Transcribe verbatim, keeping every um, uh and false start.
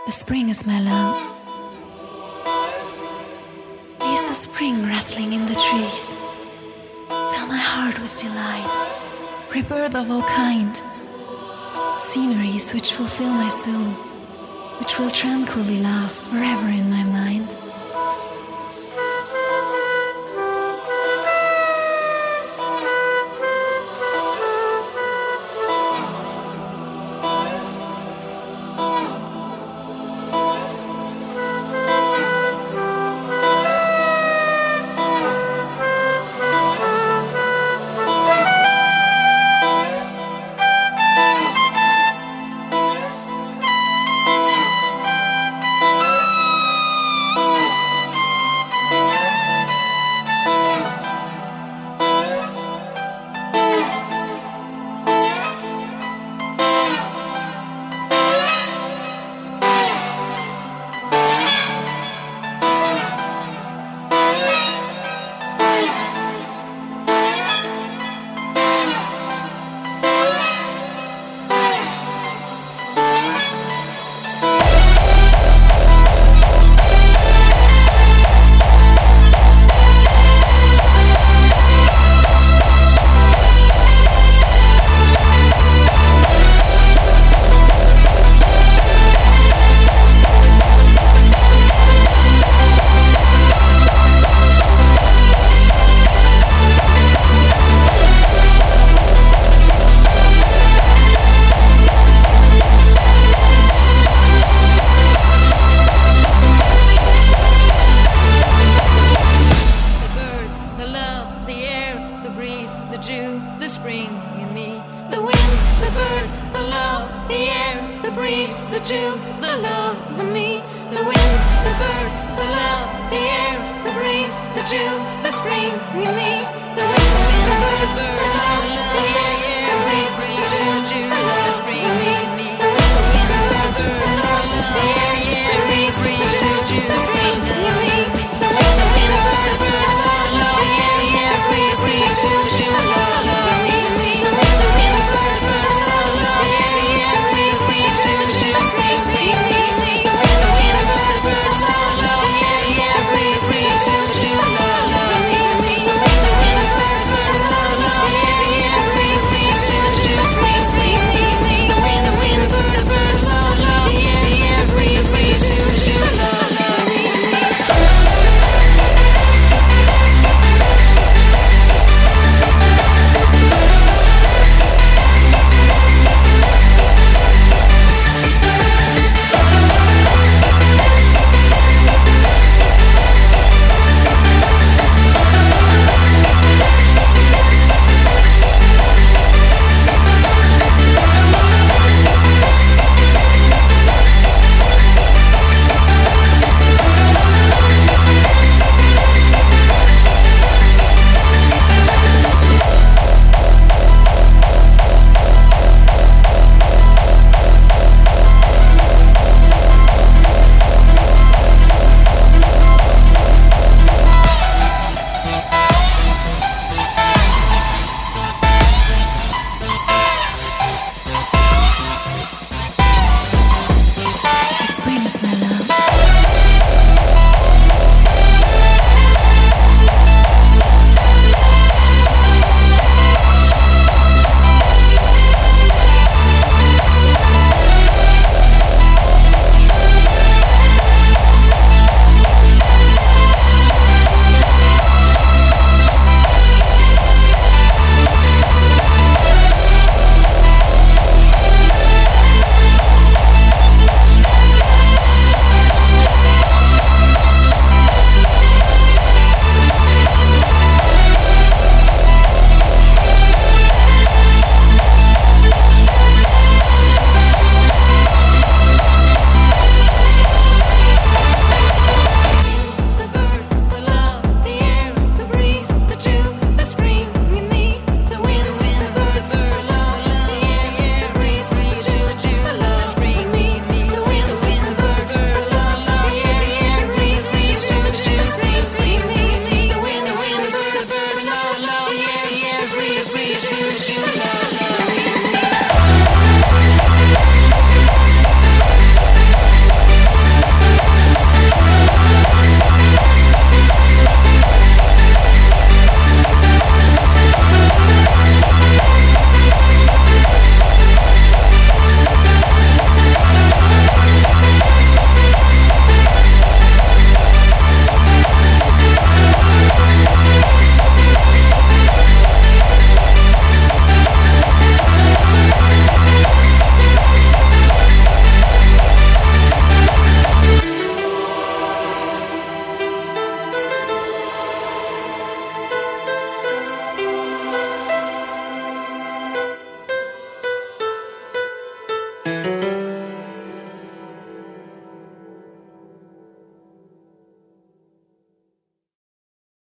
the spring is my love. Leaves of spring rustling in the trees fill my heart with delight. Rebirth of all kind, sceneries which fulfill my soul, which will tranquilly last forever in my mind. The spring in me, the wind, the birds, the love, the air, the breeze, the dew, the love in me, the wind, the birds, the love, the air, the breeze, the dew, the spring in me, the wind, the birds.